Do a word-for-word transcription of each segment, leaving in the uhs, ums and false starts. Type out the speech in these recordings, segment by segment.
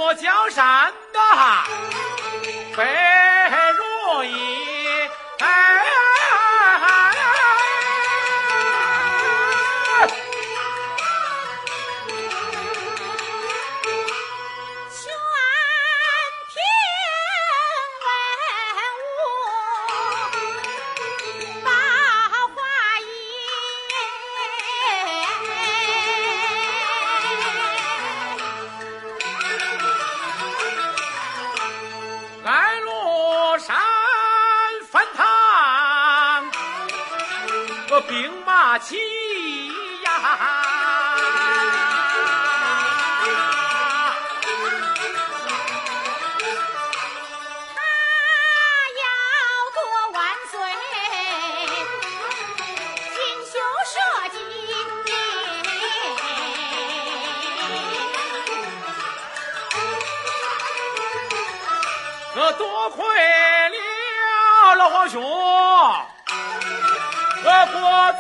过江山的非容易，哎。兵马齐呀， 他要夺万岁，锦绣社稷。 我多亏了老皇兄。我国罪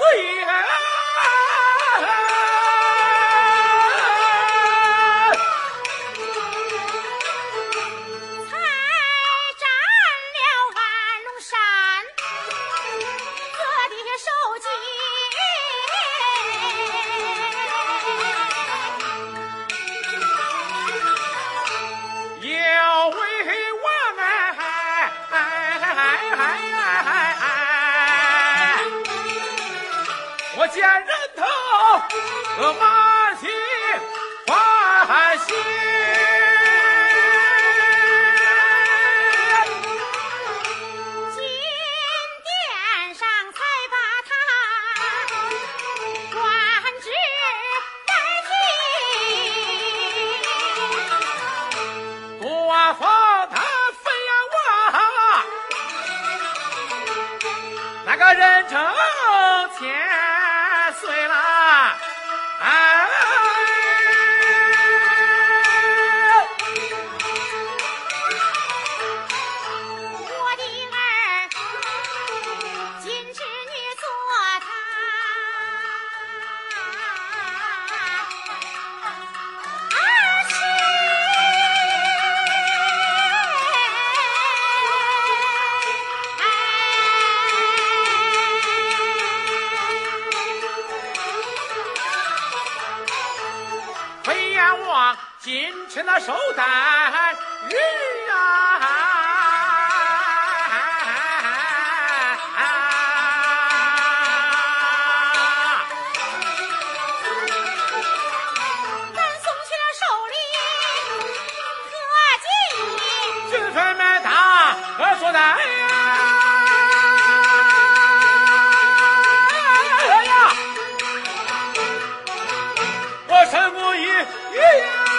才占了安龙山，各地受击， 要为我们我见人头，我满心欢喜。 金殿上才把他官职代替， 多封他分呀我，那个人称千岁了，哎， 我的儿今知你做他儿媳， 今吃那寿诞日啊， 咱送去了寿礼和锦衣， 军分们大和说的哎呀，我身不一一呀。